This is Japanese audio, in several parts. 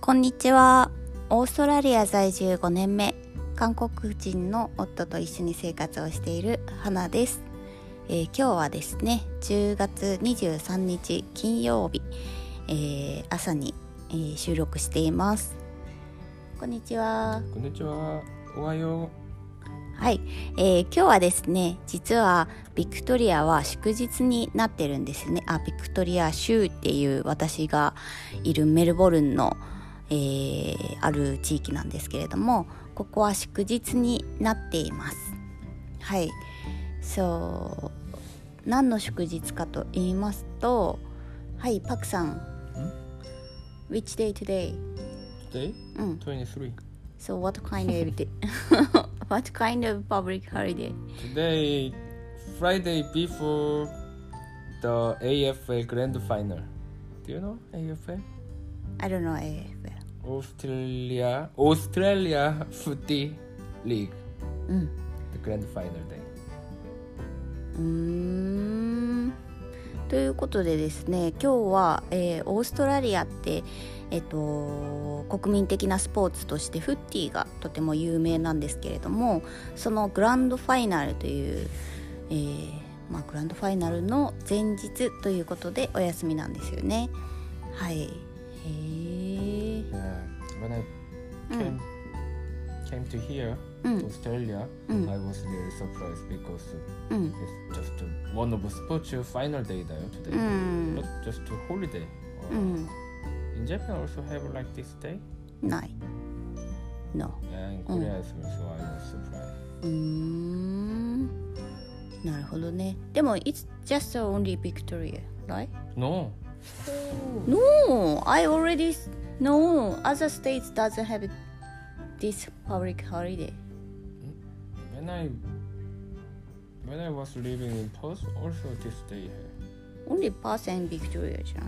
こんにちは。オーストラリア在住5年目、韓国人の夫と一緒に生活をしている花です。今日はですね、10月23日金曜日、朝に、収録しています。こんにちは。 こんにちは。おはよう。 はい、今日はですね、実はビクトリアは祝日になってるんですね。ビクトリア州っていう私がいるメルボルンのある地域なんですけれども、ここは祝日になっています。はい、何の祝日かと言いますと、はい、パクさん。Which day today? Today? 23. So what kind of what kind of public holiday? Today, Friday before the AFL Grand Final. Do you know AFL? I don't know AFL. Australia Footy League. The Grand Final day. ということでですね、今日は、オーストラリアって、国民的なスポーツとしてフッティがとても有名なんですけれども、そのグランドファイナルという、グランドファイナルの前日ということでお休みなんですよね。はい。 When I came to here, to Australia, I was really surprised because it's just one of the sports final day there today, not just a holiday. In Japan also have like this day? No. Yeah, in Korea as well, so I was surprised. なるほどね。でも it's just only Victoria, right? No. No, I already know other states doesn't have this public holiday. When I was living in Perth, also this day here. Only Perth and Victoria じゃない？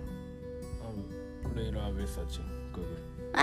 Later I will search Google.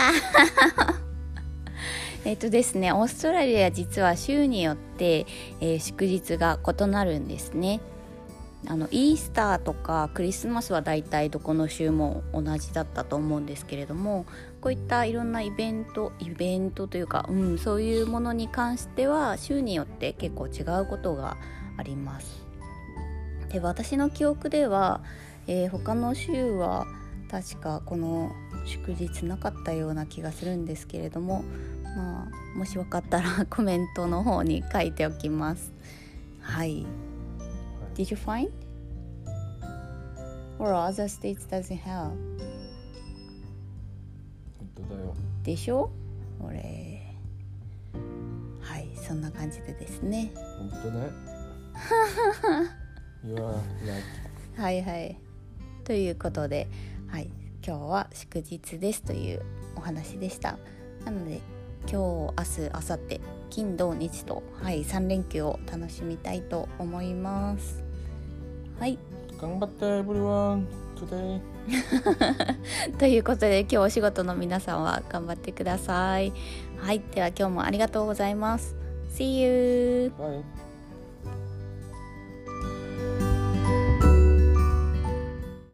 ですね、オーストラリア実は州によって、祝日が異なるんですね。イースターとかクリスマスはだいたいどこの州も同じだったと思うんですけれども、こういったいろんなイベントというか、そういうものに関しては州によって結構違うことがあります。で、私の記憶では、他の州は確かこの祝日なかったような気がするんですけれども、もし分かったらコメントの方に書いておきます。はい。Did you find? Or other states doesn't have? 本当だよ。でしょ？これ。はい、そんな感じでですね。 本当ね。You are right. はいはい。ということで、はい、今日は祝日ですというお話でした。なので今日、明日、明後日、金土日と、3連休を楽しみたいと思います。はい。 頑張って everyone today. ということで今日お仕事の皆さんは頑張ってください。はい。では今日もありがとうございます。See you. Bye.